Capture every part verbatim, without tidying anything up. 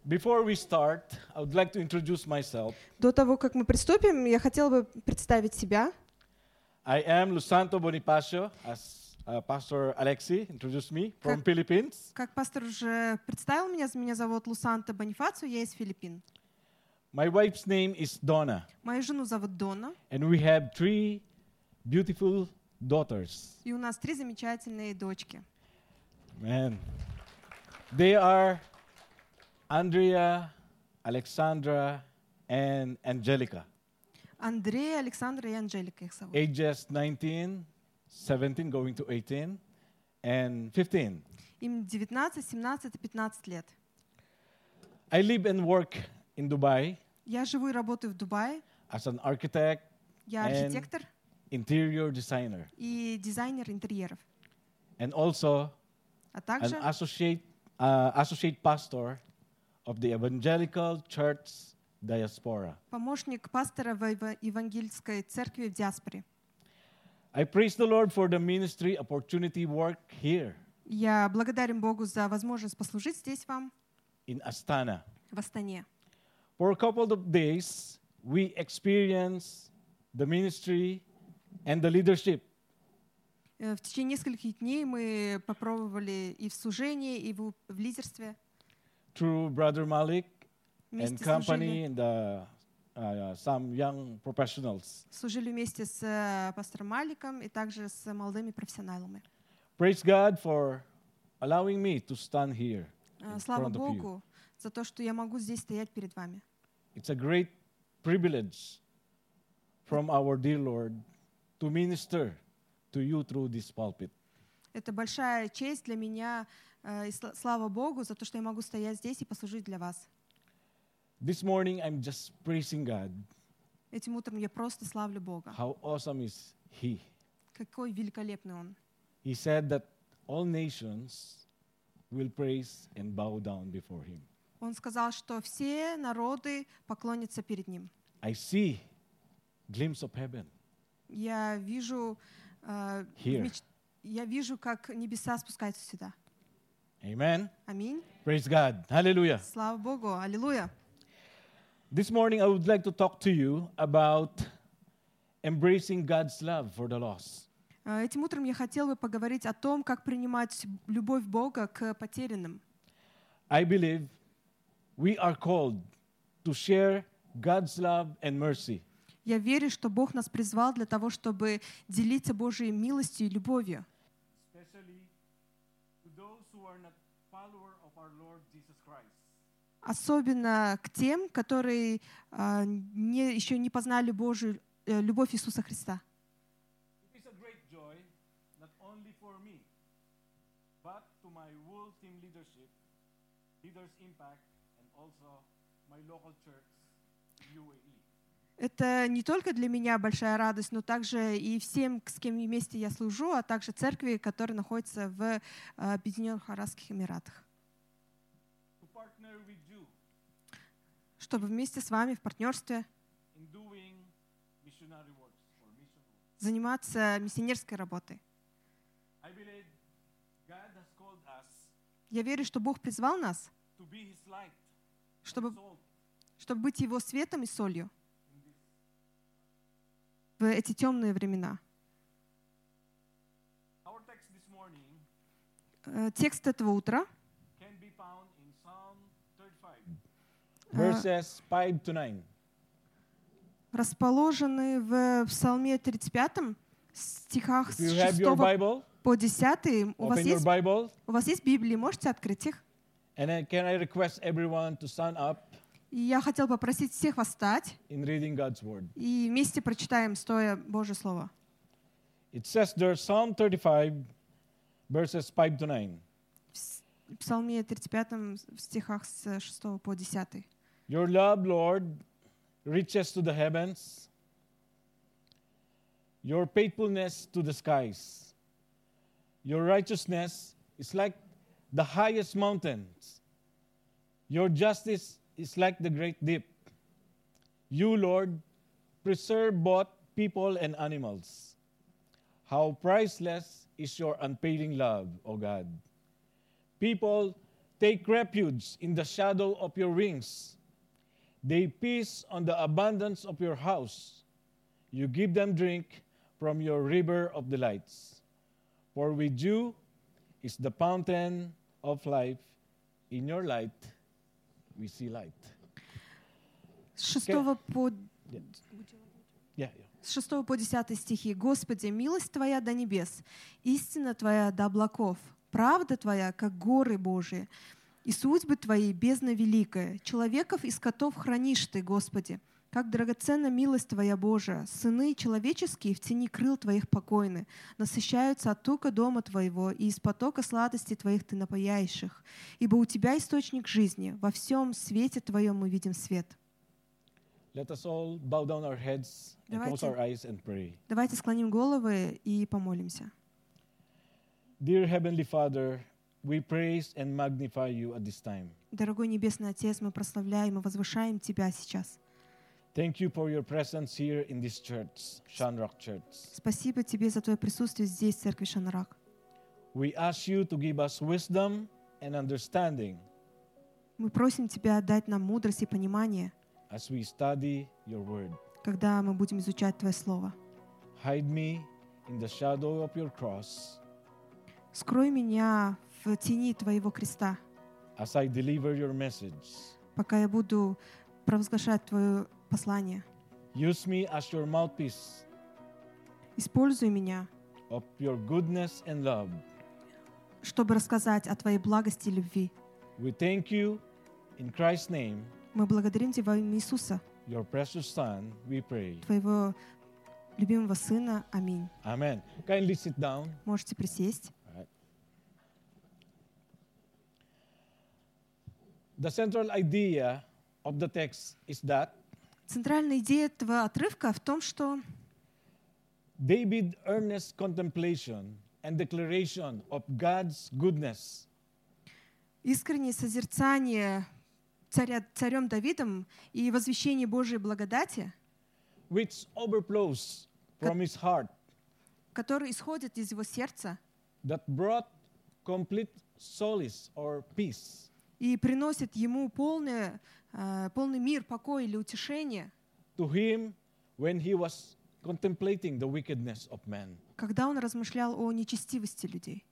Before we start, I would like to introduce myself. До того, как мы приступим, я хотела бы представить себя. I am Lusanto Bonifacio, as uh, Pastor Alexi introduced me, from Как- Philippines. Как пастор уже представил меня, меня зовут Лусанта Бонифацио, я из Филиппин. My wife's name is Donna, Мою жену зовут Дона, and we have three beautiful daughters. и у нас три замечательные дочки. Man, they are Andrea, Alexandra, and Angelica, Андрей, Александра и Анжелика их зовут. ages nineteen, seventeen, going to eighteen, and fifteen. Им девятнадцать, семнадцать и пятнадцать лет. I live and work in Dubai Я живу и работаю в Дубае. as an architect, Я And- архитектор interior designer, и дизайнер интерьеров. and also А an также associate uh, associate pastor of the Evangelical Church Diaspora. помощник пастора в Eva- Евангельской церкви в диаспоре. I praise the Lord for the ministry opportunity work here Я благодарен Богу за возможность послужить здесь вам, in Astana. в Астане. For a couple of days, we experience the ministry and the leadership Э, В течение нескольких дней мы попробовали и в служении, и в, в лидерстве through Brother Malik and вместе company служили, and the, uh, some young professionals. служили вместе с э, пастором Маликом и также с молодыми профессионалами. Praise God for allowing me to stand here Э, in Слава front of you. Богу за то, что я могу здесь стоять перед вами. It's a great privilege from our dear Lord to minister to you through this pulpit. Это большая честь для меня, э, и сла- слава Богу за то, что я могу стоять здесь и послужить для вас. This morning, I'm just praising God. Этим утром я просто славлю Бога. How awesome is He. Какой великолепный Он. He said that all nations will praise and bow down before Him. Он сказал, что все народы поклонятся перед Ним. I see glimpse of heaven. Я вижу, э, в Here. меч- я вижу, как небеса спускаются сюда. Amen. Аминь. Praise God. Hallelujah. Слава Богу. Аллилуйя. This morning, I would like to talk to you about embracing God's love for the lost. Э, Этим утром я хотела бы поговорить о том, как принимать любовь Бога к потерянным. I believe we are called to share God's love and mercy. Я верю, что Бог нас призвал для того, чтобы делиться Божьей милостью и любовью. Especially to those who are not followers of our Lord Jesus Christ. Особенно к тем, которые а, не, еще не познали Божью э, любовь Иисуса Христа. It is a great joy, not only for me, but to my whole team leadership, Leaders Impact, and also my local church, U A E. Это не только для меня большая радость, но также и всем, с кем вместе я служу, а также церкви, которые находятся в а, Объединенных Арабских Эмиратах. To partner with you Чтобы вместе с вами в партнерстве in doing missionary works or mission work. заниматься миссионерской работой. I believe God has called us Я верю, что Бог призвал нас, to be His light, чтобы, salt чтобы быть Его светом и солью in this. в эти темные времена. Our text this morning Э, Текст этого утра can be found in Psalm thirty-five, Uh, verses five to nine. расположены в Псалме тридцать пятом, стихах If с you have your шестого Bible, по десятый. У вас, open your есть, Bible, у вас есть Библии, можете открыть их? and then can I request everyone to stand up И я хотел попросить всех вас встать in reading God's Word. и вместе прочитаем стоя Божье Слово. It says there, Psalm thirty-five, verses five to nine. В с- Псалме тридцать пятом в стихах с шестого по десятый. Your love, Lord, reaches to the heavens, your faithfulness to the skies. Your righteousness is like the highest mountains. Your justice is like the great deep. You, Lord, preserve both people and animals. How priceless is your unfailing love, O God. People take refuge in the shadow of your wings. They feast on the abundance of your house. You give them drink from your river of delights. For with you is the fountain of life. In your light, we see light. С шестого по... Yeah. Yeah, yeah. С шестого по десятый стихи. «Господи, милость Твоя до небес, истина Твоя до облаков, правда Твоя, как горы Божии, и судьбы Твои бездна великая. Человеков и скотов хранишь Ты, Господи. Как драгоценна милость Твоя, Божия. Сыны человеческие в тени крыл Твоих покойны, насыщаются от тука дома Твоего, и из потока сладости Твоих Ты напояешь их. Ибо у Тебя источник жизни, во всем свете Твоем мы видим свет». Let us all bow down our heads and close Давайте. our eyes and pray. Давайте склоним головы и помолимся. Dear Heavenly Father, we praise and magnify you at this time. Дорогой Небесный Отец, мы прославляем и возвышаем Тебя сейчас. Thank you for your presence here in this church, Shanrock Church. Спасибо Тебе за Твое присутствие здесь, в церкви Шанрак. We ask you to give us wisdom and understanding Мы просим Тебя дать нам мудрость и понимание, as we study your word. когда мы будем изучать Твое Слово. Hide me in the shadow of your cross Скрой меня в тени Твоего креста, as I deliver your message. пока я буду провозглашать Твое послание. Use me as your mouthpiece Используй меня, of your goodness and love. чтобы рассказать о Твоей благости и любви. We thank you in Christ's name, Мы благодарим Тебя во имя Иисуса, your precious Son, we pray. Твоего любимого Сына. Аминь. Amen. Kindly sit down. Можете присесть. The central idea of the text is that Центральная идея этого отрывка в том, что David's earnest contemplation and declaration of God's goodness искреннее созерцание царя, царем Давидом и возвещение Божьей благодати, which overflows from his heart, который исходит из его сердца that brought complete solace or peace и приносит ему полное, э, полный мир, покой или утешение, to him when he was contemplating the wickedness of man. когда он размышлял о нечестивости людей.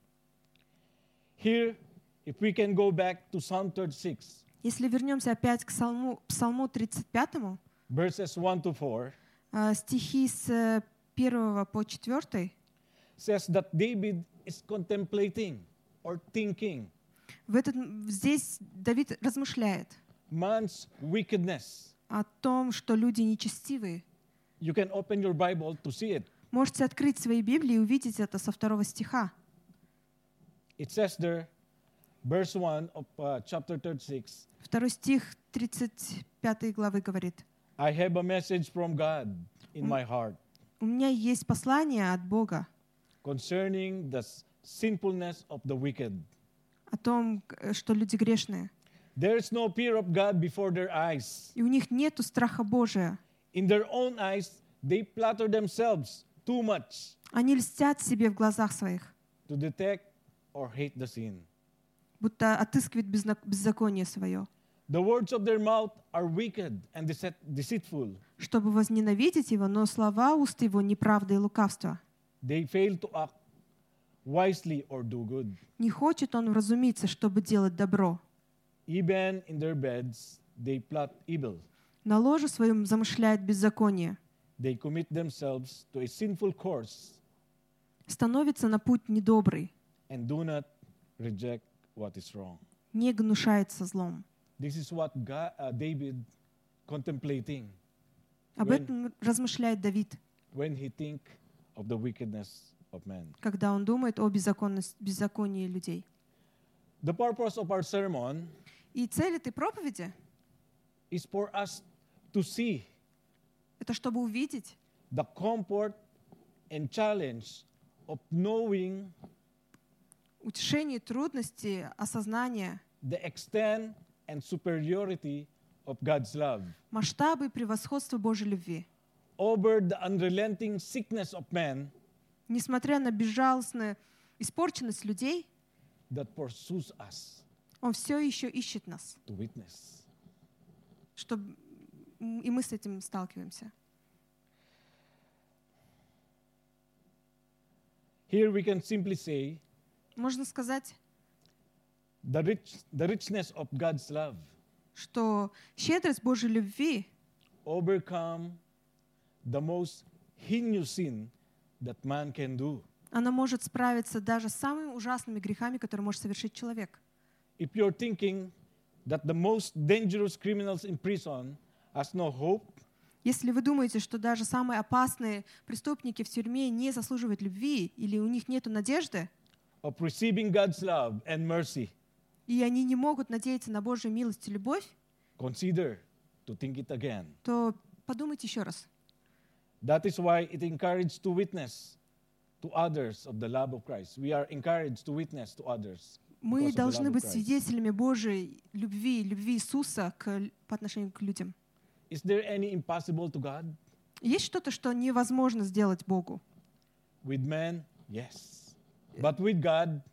Here, if we can go back to Psalm thirty-six, Если вернемся опять к Псалму, Псалму тридцать пятому, verses one to four, э, стихи с первого по четвёртый, says that David is contemplating or thinking в этот, здесь Давид размышляет man's wickedness. о том, что люди нечестивые. You can open your Bible to see it. Можете открыть свои Библии и увидеть это со второго стиха. It says there, verse one of uh, chapter thirty-six, Второй стих тридцать пятой главы говорит: I have a message from God in my heart «У меня есть послание от Бога concerning the sinfulness of the wicked. о том, что люди грешные, There is no fear of God before their eyes. и у них нету страха Божия. In their own eyes, they flatter themselves too much Они льстят себе в глазах своих, to detect or hate the sin. будто отыскивают безна- беззаконие свое, The words of their mouth are wicked and deceit- deceitful. чтобы возненавидеть его, но слова уст его неправда и лукавство. They fail to act wisely or do good. Не хочет он вразумиться, чтобы делать добро. Even in their beds, they plot evil. На ложе своем замышляет беззаконие, They commit themselves to a sinful course становится на путь недобрый, and do not reject what is wrong. не гнушается злом. This is what God, uh, David contemplating Об When- этом размышляет Давид, when he think of the wickedness of man. когда он думает о беззаконности- беззаконии людей. The purpose of our sermon И цель этой проповеди is for us to see — это чтобы увидеть the comfort and challenge of knowing утешение, трудности, осознание, the extent and superiority of God's love масштабы и превосходства Божьей любви. over the unrelenting sickness of man Несмотря на безжалостную испорченность людей, that pursues us. Он все еще ищет нас, to witness. чтобы и мы с этим сталкиваемся. Here we can simply say Можно сказать, the, rich, the richness of God's love что щедрость Божьей любви overcome the most heinous sin that man can do. она может справиться даже с самыми ужасными грехами, которые может совершить человек. If you're thinking that the most dangerous criminals in prison has no hope, Если вы думаете, что даже самые опасные преступники в тюрьме не заслуживают любви или у них нет надежды, of receiving God's love and mercy, и они не могут надеяться на Божью милость и любовь, consider to think it again. то подумайте еще раз. That is why it encouraged to witness to others of the love of Christ. We are encouraged to witness to others. Мы because of the должны love of быть Christ. свидетелями Божьей любви, любви Иисуса к, по отношению к людям. Is there any impossible to God? Есть что-то, что невозможно сделать Богу? With men, yes. But with God,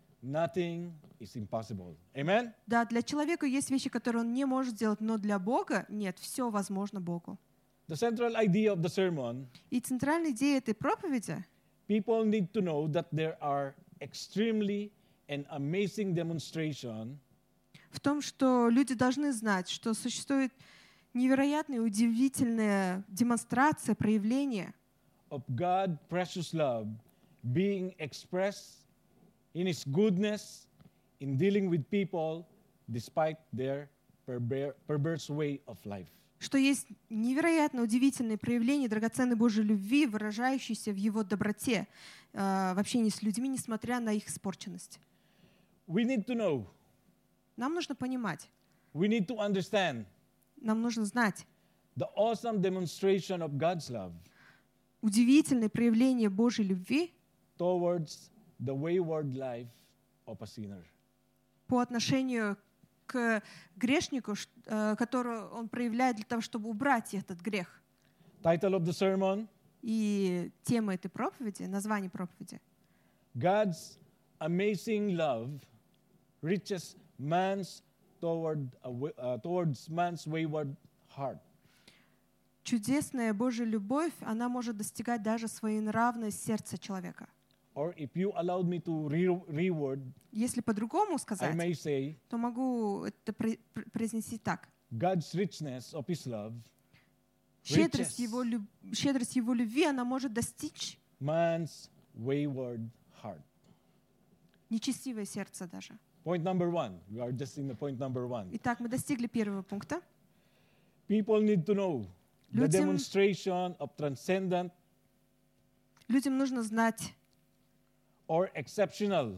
nothing is impossible. Amen? Да, для человека есть вещи, которые он не может сделать, но для Бога нет, все возможно Богу. The central idea of the sermon, И центральная идея этой проповеди people need to know that there are extremely and amazing demonstration в том, что люди должны знать, что существует невероятная, удивительная демонстрация, проявление of God's precious love being expressed in His goodness in dealing with people despite their perver- perverse way of life. что есть невероятно удивительные проявления драгоценной Божьей любви, выражающиеся в Его доброте э, в общении с людьми, несмотря на их испорченность. We need to know, Нам нужно понимать, we need to understand нам нужно знать the awesome demonstration of God's love удивительные проявления Божьей любви towards the wayward life of a sinner. по отношению к грешнику, ш- э, которую он проявляет для того, чтобы убрать этот грех. Title of the sermon, И тема этой проповеди, название проповеди God's amazing love reaches man's toward a, wa- uh, towards man's wayward heart. Чудесная Божья любовь, она может достигать даже своенравное сердца человека. Or if you allowed me to re- reword, Если по-другому I сказать, may say то могу это пр- пр- произнести так. God's richness of His love Щедрость reaches его, люб- щедрость его любви, она может достичь man's wayward heart. нечестивое сердце даже. Point number one. We are just in the point number one. Итак, мы достигли первого пункта. People need to know the Людям- demonstration of transcendent Людям нужно знать or exceptional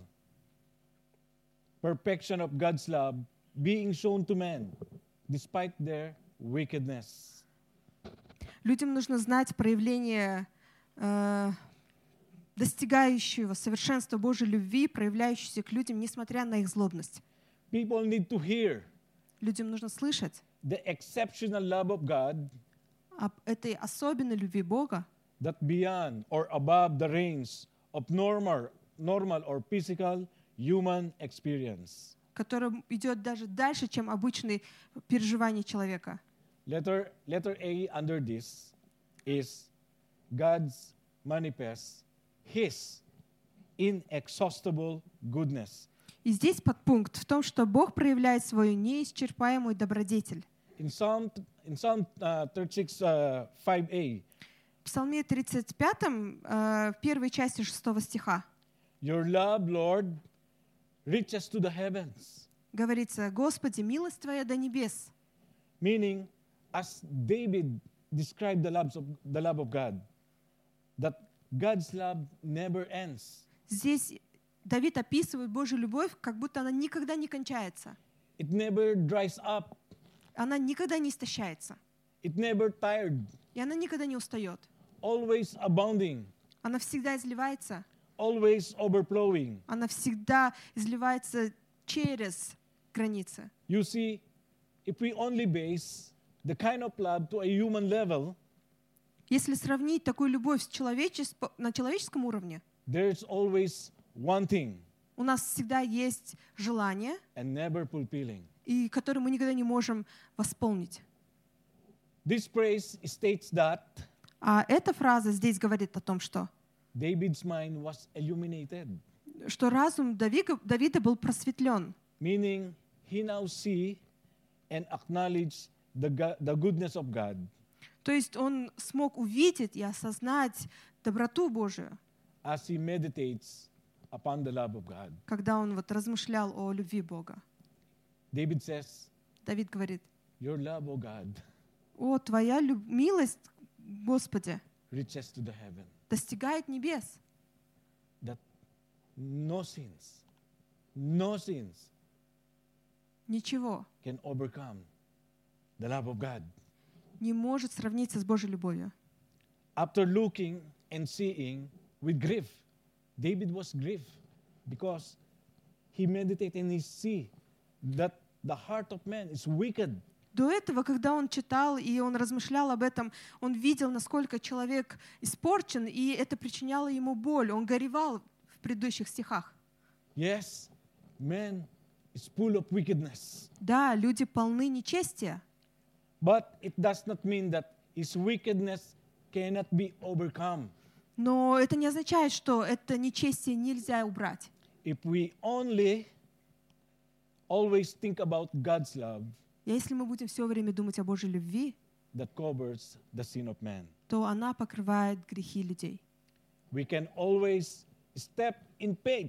perfection of God's love being shown to men despite their wickedness. Людям нужно знать проявление э, достигающего совершенства Божьей любви, проявляющейся к людям, несмотря на их злобность. People need to hear Людям нужно слышать the exceptional love of God об этой особенной любви Бога, that beyond or above the range of normal, normal or physical human experience. которая идет даже дальше, чем обычные переживания человека. Letter, letter A under this is God's manifest His inexhaustible goodness. И здесь подпункт в том, что Бог проявляет свою неисчерпаемую добродетель. In Psalm, in Psalm uh, thirty-six, uh, five a, В Псалме тридцать пятом, э, в первой части шестого стиха, Your love, Lord, reaches to the heavens. говорится: «Господи, милость Твоя до небес». Meaning, as David described the love of, the love of God, that God's love never ends. Здесь Давид описывает Божью любовь, как будто она никогда не кончается. It never dries up. Она никогда не истощается. It never tired. И она никогда не устает. Always abounding. Она всегда изливается. Always overflowing. Она всегда изливается через границы. You see, if we only base the kind of love to a human level, Если сравнить такую любовь с человечес- на человеческом уровне, there's always one thing. У нас всегда есть желание, and never fulfilling. и которое мы никогда не можем восполнить. This phrase states that А эта фраза здесь говорит о том, что, David's mind was illuminated, что разум Давида, Давида был просветлен. meaning he now see and acknowledge the, go- the goodness of God То есть он смог увидеть и осознать доброту Божию, as he meditates upon the love of God. когда он вот размышлял о любви Бога. David says, Давид говорит: your love, O God, «О, Твоя люб- милость, Господи, reaches to the heaven, достигает небес, that no sins, no sins ничего can overcome the love of God. не может сравниться с Божьей любовью». After looking and seeing with grief, David was grieved because he meditated and he see that the heart of man is wicked. До этого, когда он читал и он размышлял об этом, он видел, насколько человек испорчен, и это причиняло ему боль. Он горевал в предыдущих стихах. Yes, man is full of wickedness, Да, люди полны нечестия, but it does not mean that his wickedness cannot be overcome. но это не означает, что это нечестие нельзя убрать. If we only always think about God's love И если мы будем все время думать о Божьей любви, that covers the sin of man, то она покрывает грехи людей. we can always step in faith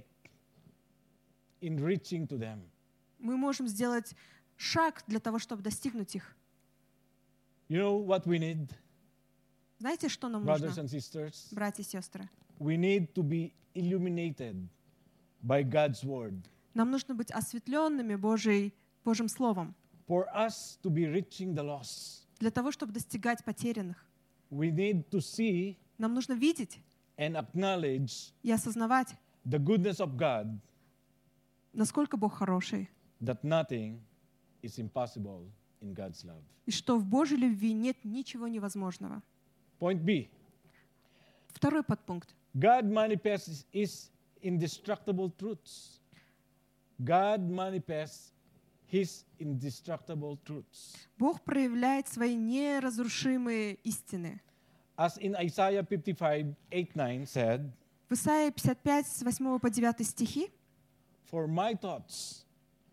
in reaching to them. Мы можем сделать шаг для того, чтобы достигнуть их. You know what we need, Знаете, что нам brothers нужно, and sisters? братья и сестры? We need to be illuminated by God's word Нам нужно быть осветленными Божьей, Божьим Словом for us to be reaching the lost. для того, чтобы достигать потерянных. We need to see Нам нужно видеть and acknowledge и осознавать, the goodness of God, насколько Бог хороший, that nothing is impossible in God's love. и что в Божьей любви нет ничего невозможного. Point B. Второй подпункт. God manifests His indestructible truths. God manifests His indestructible truths. Бог проявляет свои неразрушимые истины. As in Isaiah fifty-five, eight, nine said, В Исаии пятьдесят пять, с восьмого по девятый стихи: for my thoughts,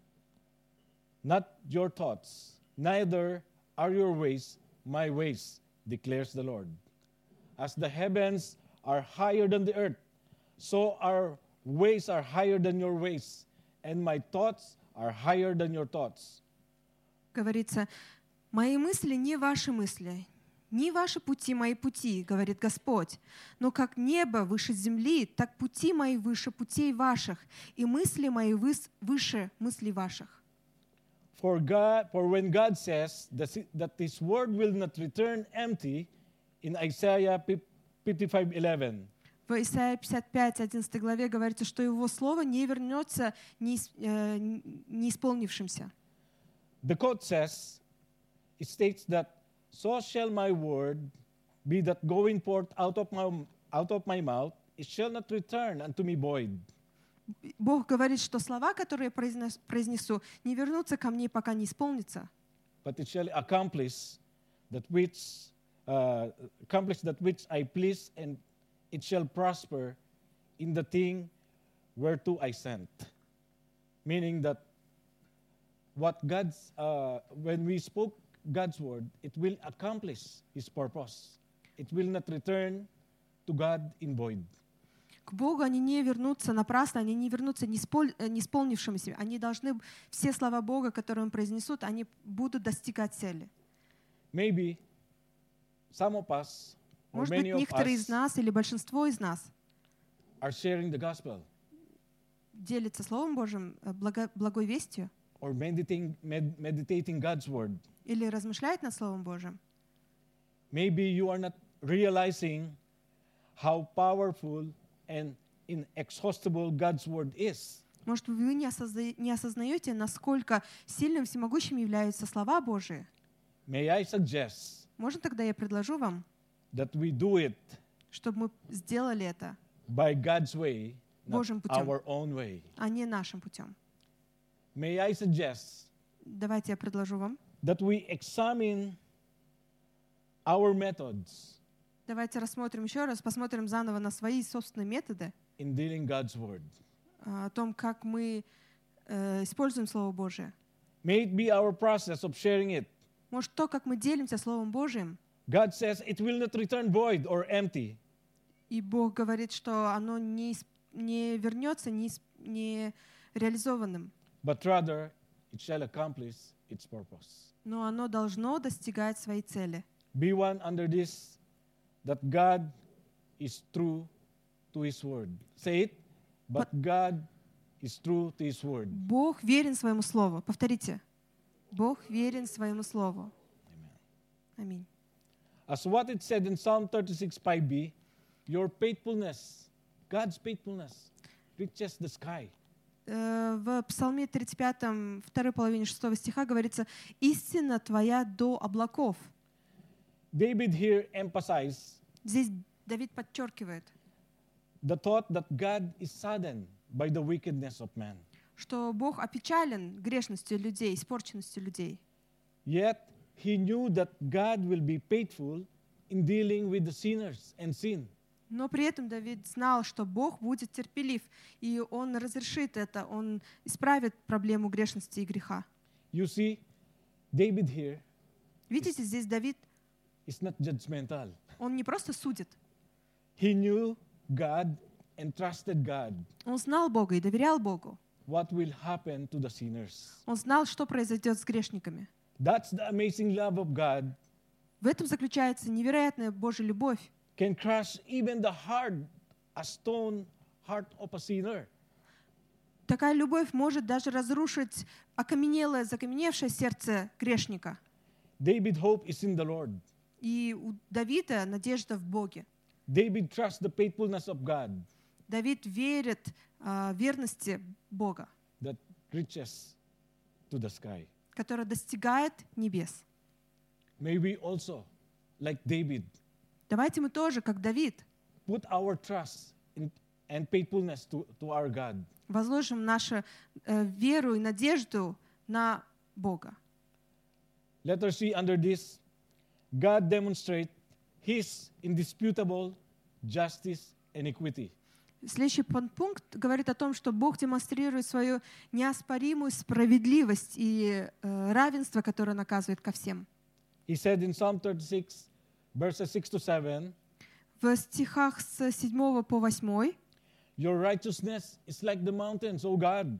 not your thoughts, neither are your ways my ways, declares the Lord. As the heavens are higher than the earth, so our ways are higher than your ways, and my thoughts are higher than your thoughts. говорится: «Мои мысли не ваши мысли, не ваши пути мои пути, говорит Господь. Но как небо выше земли, так пути мои выше путей ваших, и мысли мои выс- выше мыслей ваших». For God, for when God says that that His word will not return empty, in Isaiah fifty-five, eleven, В Исаии пятьдесят пять, одиннадцатой главе говорится, что Его Слово не вернется неис- э, неисполнившимся. the quote says, it states that, so shall my word be that going forth out of my, out of my mouth, it shall not return unto me void, Бог говорит, что слова, которые я произнес- произнесу, не вернутся ко мне, пока не исполнятся, but it shall accomplish that which, uh, accomplish that which I please, and it shall prosper in the thing whereto I sent. Meaning that what God's, uh, when we spoke God's word, it will accomplish His purpose. It will not return to God in void. К Богу они не вернутся напрасно, они не вернутся неиспол- э, неисполнившимися. Они должны, все слова Бога, которые Он произнесут, они будут достигать цели. Maybe some of us, or Может быть, many of некоторые из us, нас или большинство из нас are sharing the gospel делятся Словом Божьим, э, благо- благой вестью, or meditating, med- meditating God's word. или размышляют над Словом Божьим. Maybe you are not realizing how powerful and inexhaustible God's word is. Может, вы не, осозна- не осознаете, насколько сильным, всемогущим являются слова Божии. May I suggest Можно тогда я предложу вам, that we do it чтобы мы сделали это by God's way not Божьим путем, our own way. а не нашим путем. May I suggest Давайте я предложу вам. that we examine our methods Давайте рассмотрим еще раз, посмотрим заново на свои собственные методы, in dealing God's word. а, о том, как мы э, используем Слово Божие. May it be our process of sharing it. Может, то, как мы делимся Словом Божиим, God says it will not return void or empty, и Бог говорит, что оно не, ис- не вернется не, ис- не реализованным, but rather it shall accomplish its purpose. но оно должно достигать своей цели. Be one under this, that God is true to His word. Say it, but God is true to His word. Бог верен своему Слову. Повторите. Бог верен своему Слову. Аминь. As what it said in Psalm thirty-six five b, your faithfulness, God's faithfulness, reaches the sky. Э, В Псалме тридцать пятом, второй половине шестого стиха говорится: «Истина твоя до облаков». David here emphasized Здесь Давид подчеркивает, the thought that God is saddened by the wickedness of man. что Бог опечален грешностью людей, испорченностью людей. Yet he knew that God will be faithful in dealing with the sinners and sin. Но при этом Давид знал, что Бог будет терпелив, и Он разрешит это, Он исправит проблему грешности и греха. You see, David here Видите, здесь Давид, is not judgmental. он не просто судит, He knew God and trusted God. он знал Бога и доверял Богу. What will happen to the sinners? Он знал, что произойдет с грешниками. That's the amazing love of God. В этом заключается невероятная Божья любовь, Can crush even the hard, a stone heart of a sinner. такая любовь может даже разрушить окаменелое, закаменевшее сердце грешника. David's hope is in the Lord. И у Давида надежда в Боге. David trusts the faithfulness of God Давид верит а, верности Бога, that reaches to the sky. которая достигает небес. May we also, like David, Давайте мы тоже, как Давид, put our trust in, and faithfulness to, to our God. возложим нашу э, веру и надежду на Бога. Let us see under this, God demonstrate His indisputable justice and equity. Следующий пункт говорит о том, что Бог демонстрирует свою неоспоримую справедливость и э, равенство, которое наказывает ко всем. He said in Psalm thirty-six, verses six to seven, В стихах с седьмого по восьмой your righteousness is like the mountains, O God.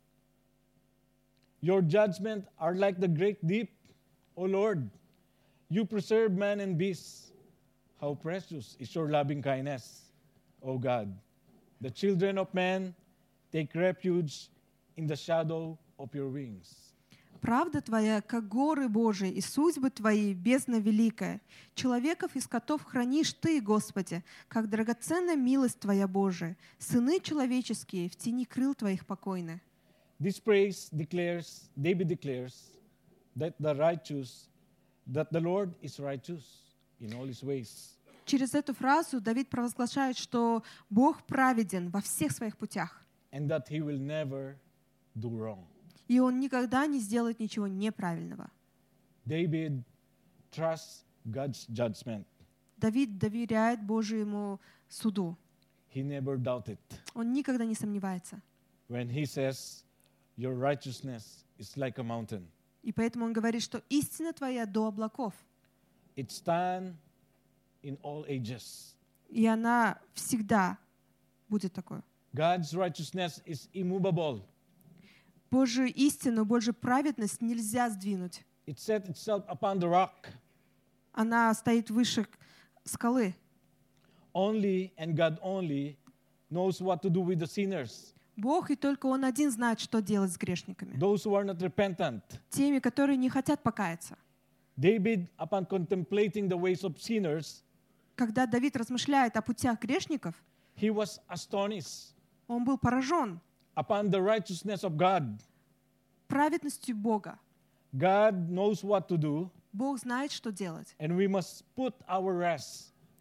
Your judgment are like the great deep, O Lord. You preserve man and beast. How precious is your loving kindness, O God. The children of man take refuge in the shadow of your wings. Правда Твоя, как горы Божии, и судьбы Твои, бездна великая. Человеков и скотов хранишь Ты, Господи, как драгоценная милость Твоя, Божия. Сыны человеческие в тени крыл Твоих покойны. This praise declares, David declares, that the righteous, that the Lord is righteous in all his ways. Через эту фразу Давид провозглашает, что Бог праведен во всех своих путях, And that he will never do wrong. и Он никогда не сделает ничего неправильного. David trusts God's judgment. Давид доверяет Божьему суду. He never doubted. Он никогда не сомневается. When he says, your righteousness is like a mountain. И поэтому он говорит, что истина Твоя до облаков, It stands in all ages. и она всегда будет такой. God's righteousness is immovable. Божью истину, Божью праведность нельзя сдвинуть. It set itself upon the rock. Она стоит выше скалы. Only and God only knows what to do with the sinners. Бог и только Он один знает, что делать с грешниками. Those who are not repentant. Теми, которые не хотят покаяться. David, upon contemplating the ways of sinners, Когда Давид размышляет о путях грешников, he was astonished он был поражен upon the righteousness of God. праведностью Бога. God knows what to do, Бог знает, что делать. and we must put our rest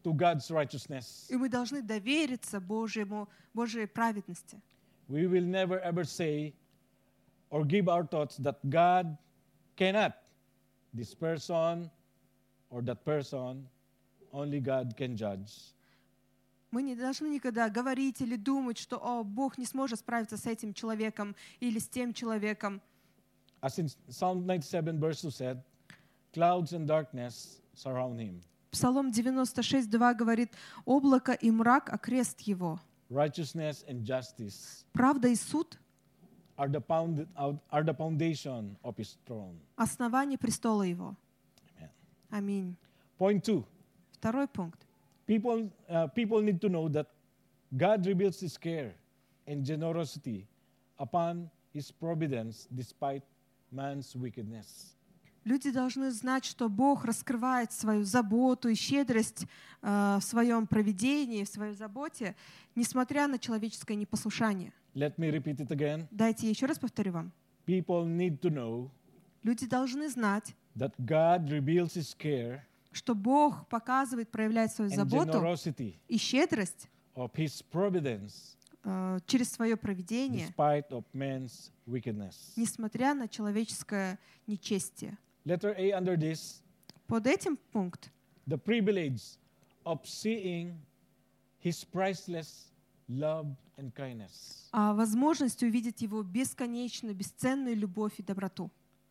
to God's righteousness. И мы должны довериться Божьему, Божьей праведности. We will never ever say or give our thoughts that God cannot. This person or that person, only God can judge. Мы не должны никогда говорить или думать, что «О, Бог не сможет справиться с этим человеком или с тем человеком». As in Psalm ninety-seven verse two said, clouds and darkness surround him. Псалом девяносто шесть два говорит: «Облако и мрак окрест его». Righteousness and justice Правда и суд are the, pound, are the foundation of his throne. — основание престола его. Amen. Аминь. Point two. Второй пункт. People, uh, people need to know that God reveals His care and generosity upon His providence despite man's wickedness. Люди должны знать, что Бог раскрывает свою заботу и щедрость э, в своем провидении, в своей заботе, несмотря на человеческое непослушание. Let me repeat it again. Дайте я еще раз повторю вам. People need to know Люди должны знать, that God reveals His care что Бог показывает, проявляет свою and заботу generosity и щедрость of His providence э, через свое провидение, despite of man's wickedness. несмотря на человеческое нечестие. Letter A under this, Под этим пункт the privilege of seeing His priceless love and kindness. а возможность увидеть Его бесконечно бесценную любовь и доброту.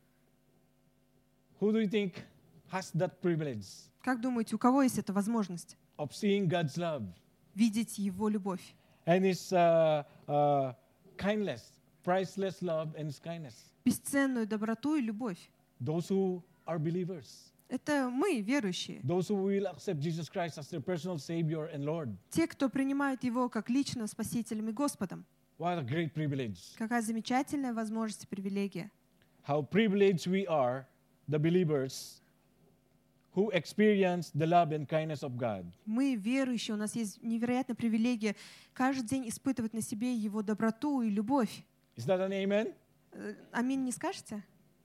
Who do you think has that privilege Как думаете, у кого есть эта возможность of seeing God's love видеть Его любовь and His uh, uh, kindness, priceless love and His kindness? бесценную доброту и любовь? Those who are believers, Это мы, верующие. those who will accept Jesus Christ as their personal Savior and Lord. Те, кто принимает Его как личным Спасителем и Господом. What a great privilege. Какая замечательная возможность и привилегия. How privileged we are, the believers, who experience the love and kindness of God. Мы, верующие, у нас есть невероятная привилегия каждый день испытывать на себе Его доброту и любовь. Is that an amen? Э, Аминь не скажете?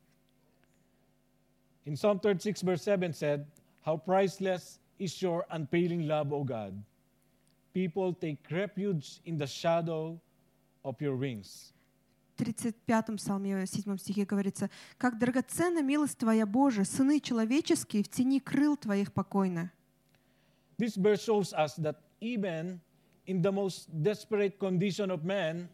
In Psalm thirty-six, verse seven said, how priceless is your unfailing love, O God. People take refuge in the shadow of your wings. В тридцать пятом псалме, седьмом стихе говорится: «Как драгоценна милость Твоя, Боже, сыны человеческие в тени крыл Твоих покойны». This verse shows us that even in the most desperate condition of man,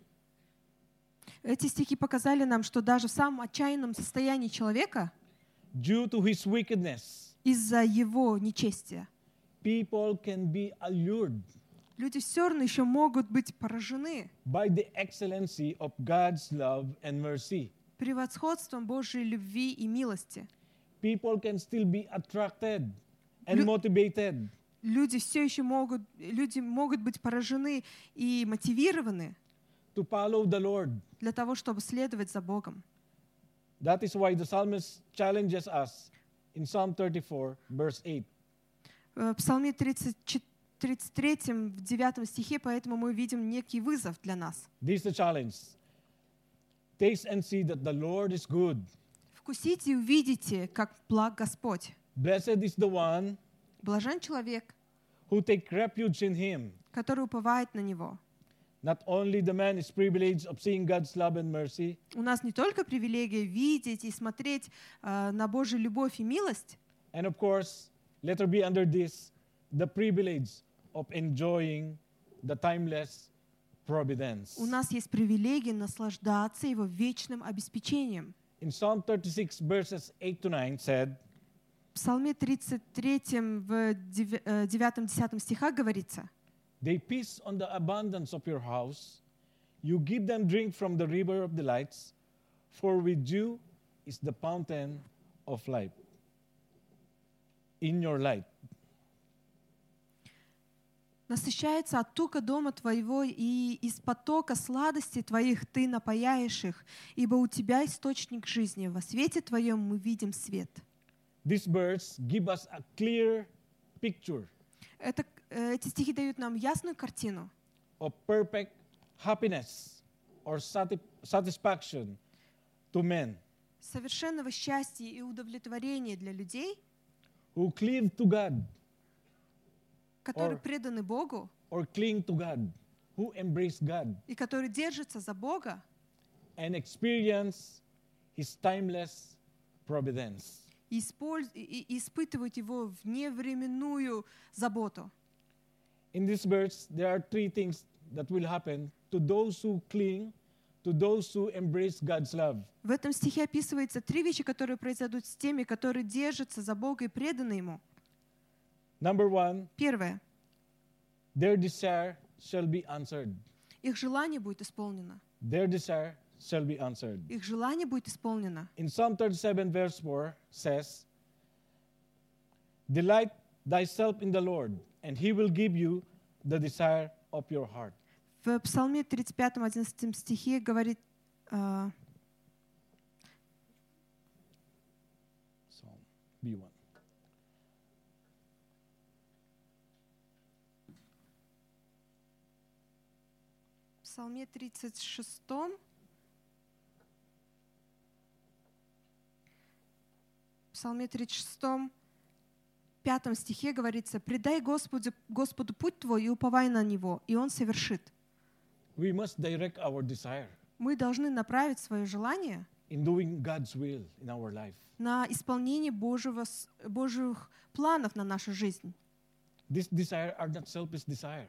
Эти стихи показали нам, что даже в самом отчаянном состоянии человека, due to his wickedness, из-за его нечестия, people can be allured люди все равно еще могут быть поражены by the excellency of God's love and mercy. превосходством Божьей любви и милости. People can still be attracted and Лю- motivated Люди все еще могут, люди могут быть поражены и мотивированы to follow the Lord. для того, чтобы следовать за Богом. That is why the psalmist challenges us in Psalm thirty-four, verse eight. В Псалме тридцать третьем, в девятом стихе, поэтому мы видим некий вызов для нас. This is the challenge. Taste and see that the Lord is good. Вкусите и увидите, как благ Господь. Blessed is the one Блажен человек, who take refuge in Him. который уповает на Него. Not only the man is privileged of seeing God's love and mercy, У нас не только привилегия видеть и смотреть э, на Божью любовь и милость, and of course, letter B under this, the privilege of enjoying the timeless providence. у нас есть привилегия наслаждаться Его вечным обеспечением. In Psalm thirty-six, verses eight to nine said, В Псалме тридцать третьем, в девятом-десятом стихах говорится: they feast on the abundance of your house. You give them drink from the river of delights, for with you is the fountain of life. In your light. «Насыщается от тука дома твоего, и из потока сладости твоих ты напояешь их, ибо у тебя источник жизни. Во свете твоем мы видим свет». This verse gives us a clear picture Это, э, эти стихи дают нам ясную картину of perfect happiness or sati- satisfaction to men совершенного счастья и удовлетворения для людей, who cleave to God, которые Or- преданы Богу or cling to God, who embrace God и которые держатся за Бога and experience His timeless providence. и, использ- и- и испытывают Его вневременную заботу. In this verse, there are three things that will happen to those who cling, to those who embrace God's love. В этом стихе описывается три вещи, которые произойдут с теми, которые держатся за Бога и преданы Ему. Number one, Первое. their desire shall be answered. Их желание будет исполнено. Their desire shall be answered. Их желание будет исполнено. In Psalm thirty-seven, verse four says, delight thyself in the Lord, and He will give you the desire of your heart. В Псалме тридцать пятом, одиннадцатом стихе говорит, а, Psalm B one. в Псалме тридцать шестом, в Псалме тридцать шестом, пятом стихе говорится: «Предай Господу, Господу путь твой и уповай на Него, и Он совершит». We must direct our desire Мы должны направить свое желание in doing God's will in our life. на исполнение Божьего, с- Божьих планов на нашу жизнь. This desire are not selfish desire.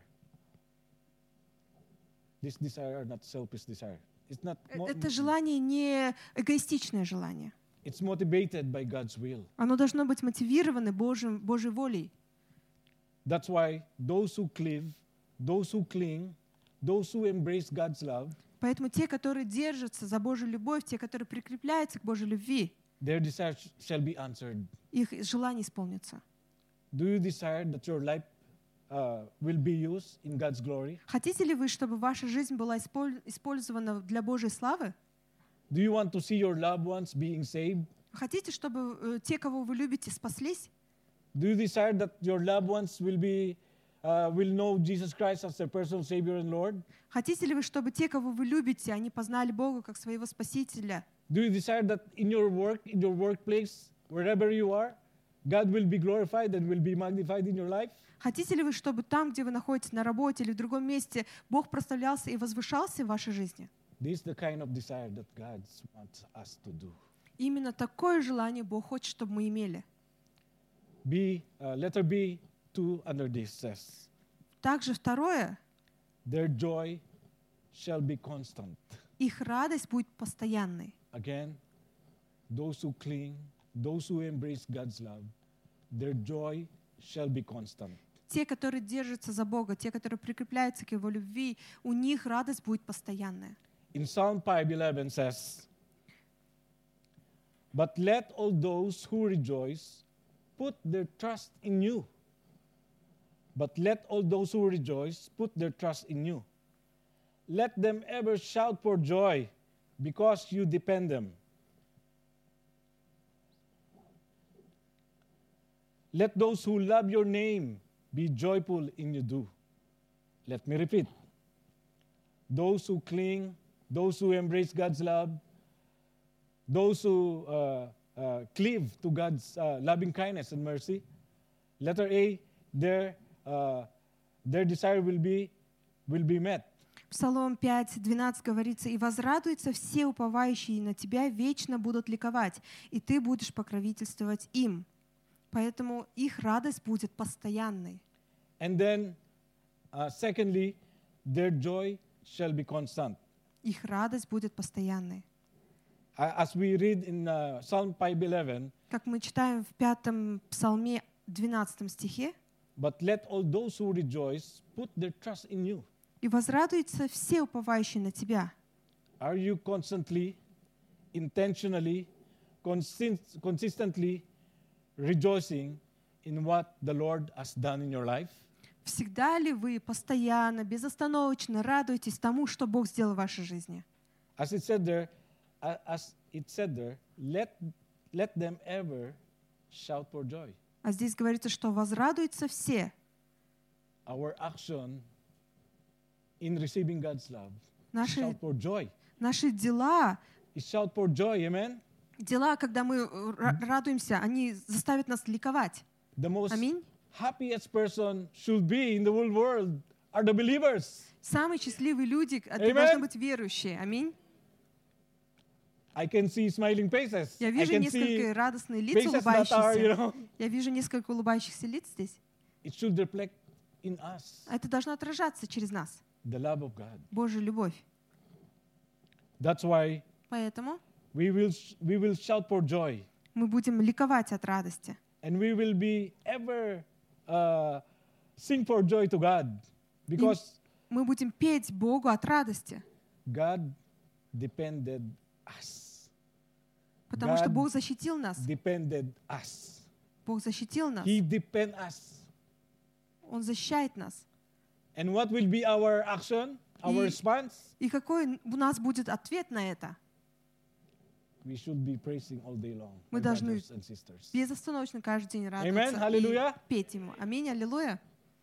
This desire are not selfish desire. It's not. Э- mo- Это желание не эгоистичное желание. It's motivated by God's will. Оно должно быть мотивировано Божьим, Божьей волей. That's why those who cleave, those who cling, those who embrace God's love, Поэтому те, которые держатся за Божью любовь, те, которые прикрепляются к Божьей любви, their desire sh- shall be answered. их желание исполнится. Do you desire that your life uh, will be used in God's glory? Хотите ли вы, чтобы ваша жизнь была исполь- использована для Божьей славы? Do you want to see your loved ones being saved? Хотите, чтобы э, те, кого вы любите, спаслись? Do you desire that your loved ones will be uh, will know Jesus Christ as their personal Savior and Lord? Хотите ли вы, чтобы те, кого вы любите, они познали Бога как своего Спасителя? Do you desire that in your work, in your workplace, wherever you are, God will be glorified and will be magnified in your life? Хотите ли вы, чтобы там, где вы находитесь, на работе или в другом месте, Бог прославлялся и возвышался в вашей жизни? This is the kind of desire that God wants us to do. Именно такое желание Бог хочет, чтобы мы имели. B, uh, letter B, two under this says, Также второе, their joy shall be constant. их радость будет постоянной. Again, those who cling, those who embrace God's love, their joy shall be constant. Те, которые держатся за Бога, те, которые прикрепляются к Его любви, у них радость будет постоянная. In Psalm five eleven says, but let all those who rejoice put their trust in you. But let all those who rejoice put their trust in you. Let them ever shout for joy because you depend them. Let those who love your name be joyful in you do. Let me repeat. Those who cling, those who embrace God's love, those who uh, uh, cleave to God's uh, loving kindness and mercy. Letter A, their, uh, their desire will be, will be met. Псалом пять двенадцать говорится: «И возрадуются все уповающие на Тебя, вечно будут ликовать, и Ты будешь покровительствовать им». Поэтому их радость будет постоянной. And then, uh, secondly, their joy shall be constant. Их радость будет постоянной. Uh, as we read in uh, Psalm five eleven, Как мы читаем в пятом псалме двенадцатом стихе, but let all those who rejoice put their trust in you. «И возрадуются все уповающие на Тебя». Are you constantly, intentionally, consist- consistently rejoicing in what the Lord has done in your life? Всегда ли вы постоянно, безостановочно радуетесь тому, что Бог сделал в вашей жизни? As it said there, uh, as it said there, let let them ever shout for joy. А здесь говорится, что возрадуются все. Our action in receiving God's love is Наши, shout for joy. наши дела, Is shout for joy, amen? дела, когда мы ра- радуемся, они заставят нас ликовать. The most Аминь. happiest person should be in the whole world are the believers. Самые счастливые люди, это Amen. должны быть верующие. Аминь. I can see smiling faces. Я I вижу can несколько see радостные лица, faces that are, you улыбающиеся. know, Я вижу несколько улыбающихся лиц здесь. it should reflect in us Это должно отражаться через нас. the love of God. Божья любовь. That's why Поэтому we will sh- we will shout for joy, мы будем ликовать от радости. and we will be ever uh, sing for joy to God, because Мы будем петь Богу от радости, God depended us. потому что God Бог защитил нас. Depended us. Бог защитил нас. He depend us. Он защищает нас. And what will be our action, our И- response? И какой у нас будет ответ на это? We should be praising all day long, Мы my должны brothers and sisters. безостановочно каждый день Amen. радоваться Hallelujah. и петь Ему. Аминь, аллилуйя.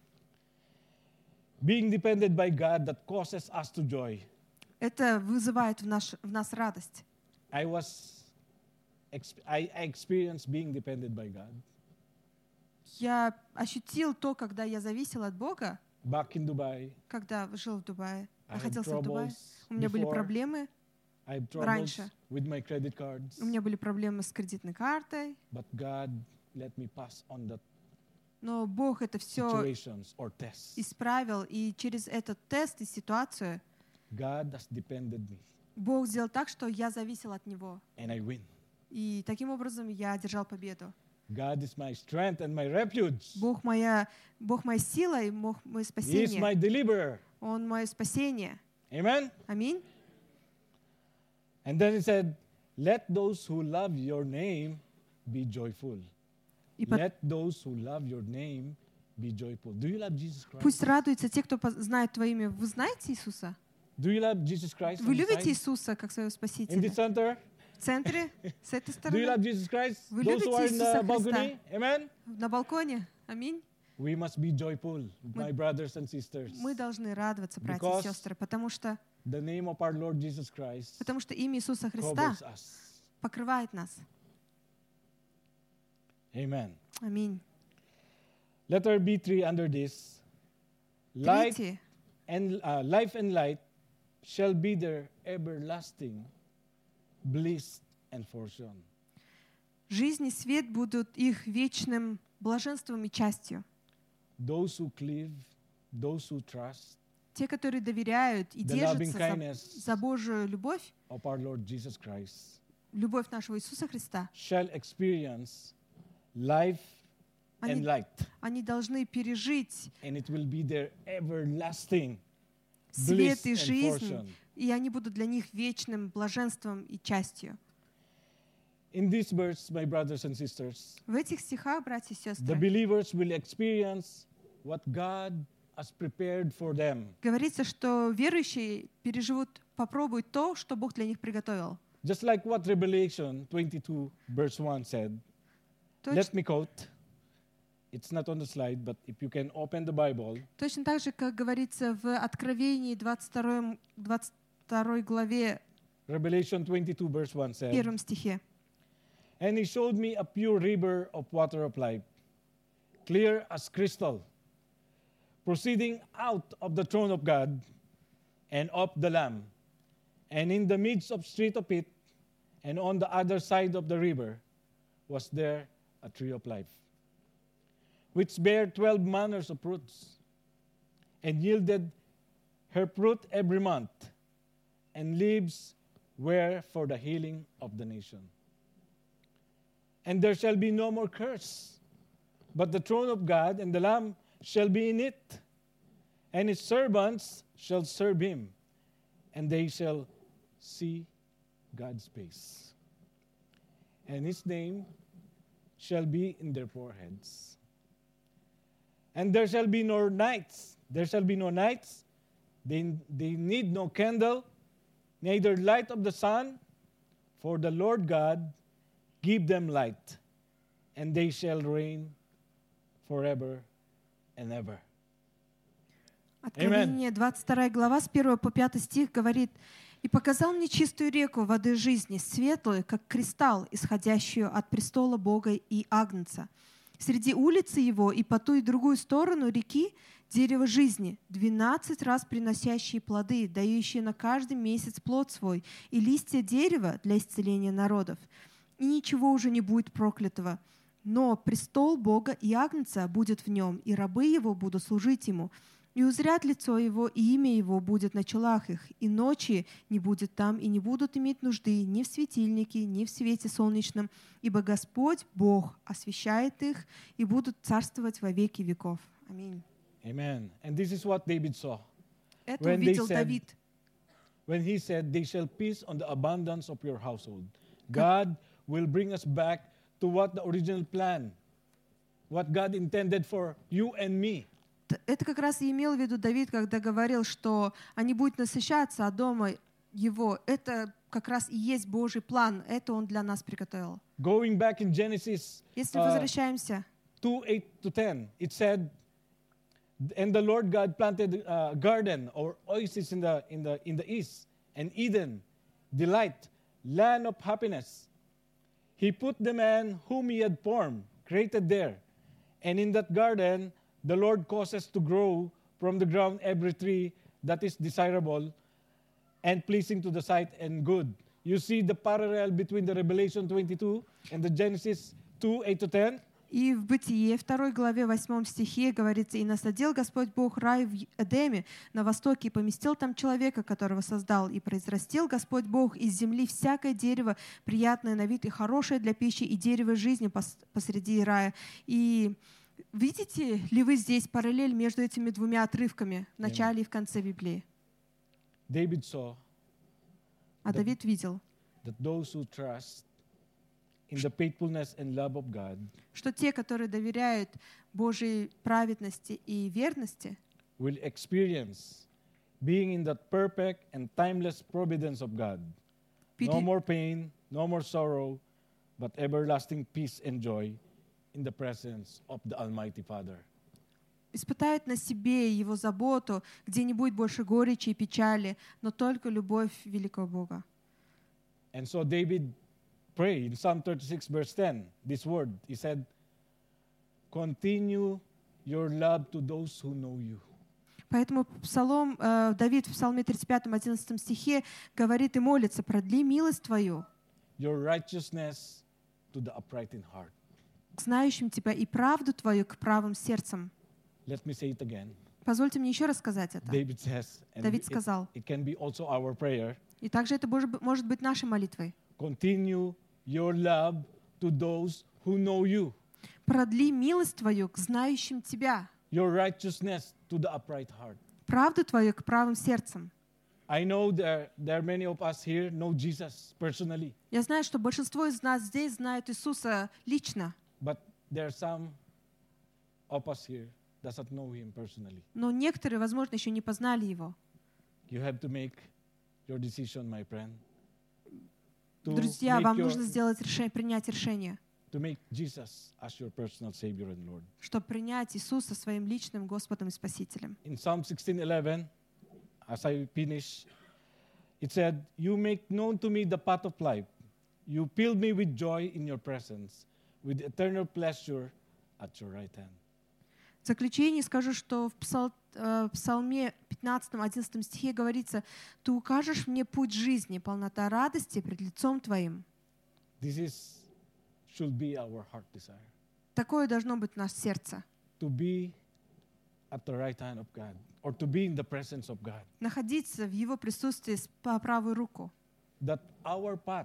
Being depended by God that causes us to joy. Это вызывает в, наш, в нас радость. I was, exp- I, I experienced being depended by God Я ощутил то, когда я зависел от Бога, back in Dubai. когда жил в Дубае. I had Находился в Дубае. troubles У меня были before. проблемы. I had troubles Раньше. with my credit cards, У меня были проблемы с кредитной картой. but God let me pass on that Но Бог это все situations or tests. исправил. И через этот тест и ситуацию God has depended me, Бог сделал так, что я зависел от Него. and I win. И таким образом я одержал победу. God is my strength and my refuge. Бог моя, Бог моя сила и Бог мое He is спасение. my deliverer. Он мое спасение. Amen. Аминь. And then he said, "Let those who love your name be joyful. И по- Let those who love your name be joyful." Do you love Jesus Christ? Пусть радуются те, кто поз- знает Твое имя. Вы знаете Иисуса? Do you love Jesus Christ? Вы on the любите side? Иисуса как своего In the Спасителя? center? В центре, с этой Do you love стороны, Jesus Christ? Вы Those who любите are in Иисуса the balcony? Amen. на балконе. Аминь. We must be joyful, my brothers and sisters. Мы должны радоваться, братья Because и сестры, потому что, The name of our Lord Jesus Christ потому что имя Иисуса Христа covers us. покрывает нас. Amen. Аминь. Letter B three under this. Light Третье. and uh, life and light shall be their everlasting bliss and fortune. Жизнь и свет будут их вечным блаженством и частью. Those who cleave, those who trust Те, которые доверяют и the loving держатся kindness за, за Божию любовь, of our Lord Jesus Christ любовь нашего Иисуса Христа, shall experience life and они, light, они должны пережить and it will be their everlasting свет bliss и and жизнь, fortune. и они будут для них вечным блаженством и частью. In this verse, my brothers and sisters, В этих стихах, братья и the сестры, believers will experience what God has prepared for them. говорится, что верующие переживут, попробуют то, что Бог для них приготовил. Just like what Revelation twenty-two, verse one said. Точ- Let me quote. It's not on the slide, but if you can open the Bible, Точно так же, как говорится в Откровении двадцать второй, двадцать второй главе, Revelation twenty-two, verse one said, первом стихе. "And he showed me a pure river of water of life, clear as crystal, proceeding out of the throne of God and of the Lamb. And in the midst of street of it, and on the other side of the river, was there a tree of life, which bare twelve manners of fruits, and yielded her fruit every month, and leaves were for the healing of the nation. And there shall be no more curse, but the throne of God and the Lamb shall be in it, and his servants shall serve him, and they shall see God's face. And his name shall be in their foreheads. And there shall be no nights. There shall be no nights. They, they need no candle, neither light of the sun, for the Lord God give them light, and they shall reign forever and ever. Откровение двадцать вторая глава с первого по пятый стих говорит: «И показал мне чистую реку воды жизни, светлую, как кристалл, исходящую от престола Бога и Агнца, Среди улицы его и по ту и другую сторону реки дерево жизни, двенадцать раз приносящие плоды, дающие на каждый месяц плод свой, и листья дерева для исцеления народов. И ничего уже не будет проклятого. Но престол Бога и Агнца будет в нем, и рабы его будут служить ему. И узрят лицо его, и имя его будет на челах их, и ночи не будет там, и не будут иметь нужды ни в светильнике, ни в свете солнечном, ибо Господь, Бог, освящает их, и будут царствовать во веки веков. Аминь. Amen. And this is what David saw. Это When they увидел said- Давид. When he said, they shall feast on the abundance of your household. God will bring us back to what the original plan, what God intended for you and me. Т- Это как раз и имел в виду Давид, когда говорил, что они будут насыщаться от дома его. Это как раз и есть Божий план. Это Он для нас приготовил. Going back in Genesis Если uh, возвращаемся two, eight to ten, it said, and the Lord God planted a garden or oasis in the, in the, in the east, and Eden, delight, land of happiness. He put the man whom he had formed, created there. And in that garden, the Lord causes to grow from the ground every tree that is desirable and pleasing to the sight and good. You see the parallel between the Revelation twenty-two and the Genesis two, eight to ten? И в Бытие, второй главе, восьмом стихе говорится, «И насадил Господь Бог рай в Эдеме на востоке, и поместил там человека, которого создал, и произрастил Господь Бог из земли всякое дерево, приятное на вид и хорошее для пищи, и дерево жизни пос- посреди рая». И видите ли вы здесь параллель между этими двумя отрывками в начале и в конце Библии? David saw А Давид видел, that those who trust in the faithfulness and love of God что те, которые доверяют Божьей праведности и верности, will experience being in that perfect and timeless providence of God. No пере- more pain, no more sorrow, but everlasting peace and joy in the presence of the Almighty Father. испытают на себе Его заботу, где не будет больше горечи и печали, но только любовь великого Бога. And so David prayed in Psalm thirty-six, verse ten, this word. He said, continue your love to those who know you. Поэтому Псалом, э, Давид в Псалме тридцать пятом, одиннадцатом стихе говорит и молится: «Продли милость Твою Your righteousness to the upright in heart. к знающим Тебя и правду Твою к правым сердцам». Let me say it again. Позвольте мне еще раз сказать это. David says, and Давид it, сказал, it can be also our prayer, и также это боже- может быть нашей молитвой: continue your love to those who know you. «Продли милость Твою к знающим Тебя, Your righteousness to the upright heart. правду Твою к правым сердцам». I know there, there are many of us here know Jesus personally, Я знаю, что большинство из нас здесь знают Иисуса лично, but there are some of us here doesn't know Him personally. но некоторые, возможно, еще не познали Его. You have to make your decision, my friend, to Друзья, make вам your- нужно сделать решение, принять решение, to make Jesus as your personal Savior and Lord. чтобы принять Иисуса своим личным Господом и Спасителем. In Psalm sixteen eleven, as I finish, it said, you make known to me the path of life. You fill me with joy in your presence, with eternal pleasure at your right hand. В заключение скажу, что в псал- э, в Псалме пятнадцатом, одиннадцатом стихе говорится: «Ты укажешь мне путь жизни, полнота радости пред лицом Твоим». This is should be our heart desire, Такое должно быть в наше сердце. to be at the right hand of God, or to be in the presence of God. Находиться в Его присутствии с- по правую руку. That our path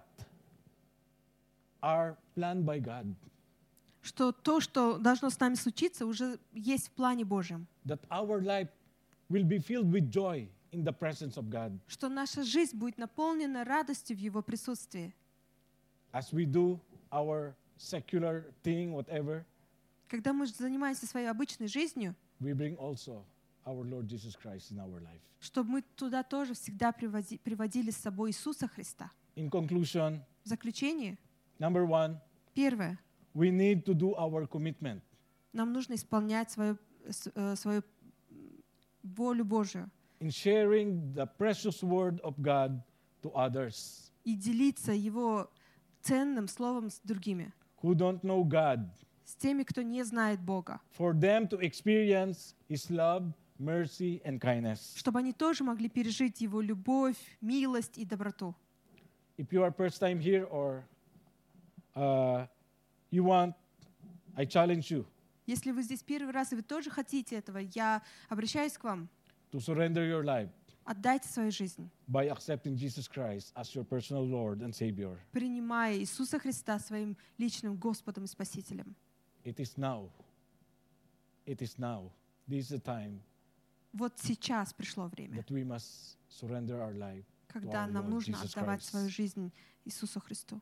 are planned by God. Что то, что должно с нами случиться, уже есть в плане Божьем. That our life will be filled with joy in the presence of God. Что наша жизнь будет наполнена радостью в Его присутствии. As we do our secular thing, whatever, Когда мы занимаемся своей обычной жизнью, we bring also our Lord Jesus Christ in our life. чтобы мы туда тоже всегда привози- приводили с собой Иисуса Христа. In conclusion, В заключение, number one, первое, we need to do our commitment. нам нужно исполнять свою, с- э, свою м, волю Божию In sharing the precious word of God to others и делиться Его ценным словом с другими, who don't know God, с с теми, кто не знает Бога, for them to experience His love, mercy, and kindness. чтобы они тоже могли пережить Его любовь, милость и доброту. If you are first time here or uh, you want, I challenge you Если вы здесь первый раз, и вы тоже хотите этого, я обращаюсь к вам. to surrender your life Отдайте свою жизнь, by accepting Jesus Christ as your personal Lord and Savior. принимая Иисуса Христа своим личным Господом и Спасителем. It is now. It is now. This is the time Вот сейчас пришло время, that we must surrender our life. когда our нам Lord нужно Jesus отдавать Christ. свою жизнь Иисусу Христу.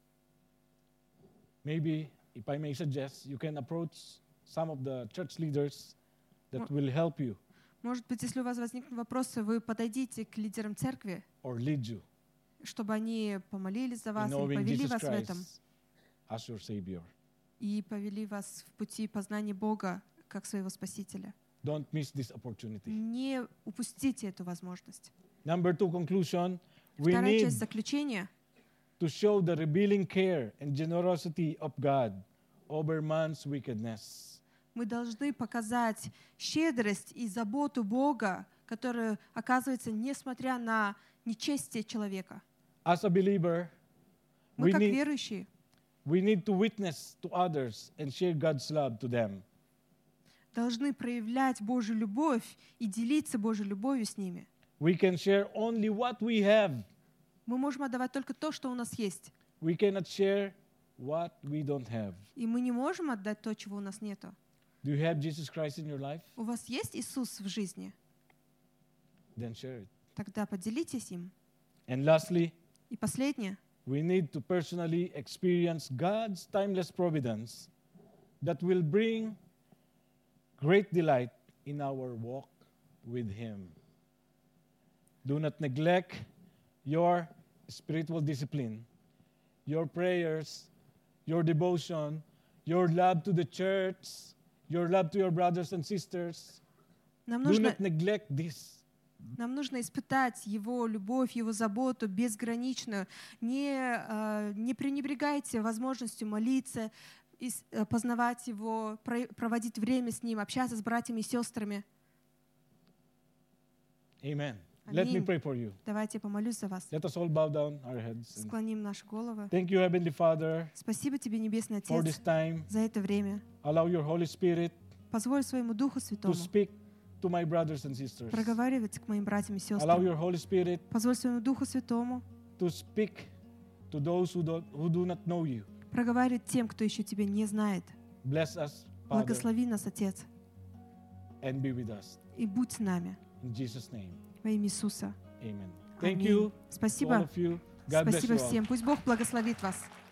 Maybe, if I may suggest, you can approach some of the church leaders that Mo- will help you Может быть, если у вас возникнут вопросы, вы подойдите к лидерам церкви, or lead you чтобы они помолились за in вас и knowing повели Jesus вас в этом, Christ as your Savior. и повели вас в пути познания Бога как своего Спасителя. Don't miss this opportunity. Не упустите эту возможность. Number two, conclusion. We Вторая need часть заключения. to show the revealing care and generosity of God over man's wickedness. Мы должны показать щедрость и заботу Бога, которая оказывается, несмотря на нечестие человека. As a believer, Мы we как need, верующие we need to witness to others and share God's love to them. должны проявлять Божью любовь и делиться Божьей любовью с ними. We can share only what we have. Мы можем отдавать только то, что у нас есть. We cannot share what we don't have. И мы не можем отдать то, чего у нас нету. Do you have Jesus Christ in your life? У вас есть Иисус в жизни? Then share it. Тогда поделитесь им. And lastly, И последнее. we need to personally experience God's timeless providence that will bring great delight in our walk with Him. Do not neglect your spiritual discipline, your prayers, your devotion, your love to the church, your love to your brothers and sisters. Нам Do нужно, not neglect this. нам нужно испытать Его любовь, Его заботу безграничную. Не, э, не пренебрегайте возможностью молиться, ис- э, познавать Его, про- проводить время с Ним, общаться с братьями и сестрами. Amen. Let me Аминь. pray for you. Давайте я помолюсь за вас. Let us all bow down our heads. and Склоним наши головы. Thank you, Heavenly Father, Спасибо Тебе, Небесный for Отец, this time. за это время. Allow your Holy Spirit Позволь своему Духу to Святому speak to my brothers and sisters. проговаривать к моим братьям и Allow сестрам. your Holy Spirit Позволь своему Духу Святому to speak to those who, don't, who do not know you. проговаривать тем, кто еще Тебя не знает. Bless us, Father, Благослови нас, Отец, and be with us. и будь с нами. In Jesus' name, Во имя Иисуса. amen. Thank Аминь. you to all Спасибо. of you. God bless Спасибо you all. всем. Пусть Бог благословит вас.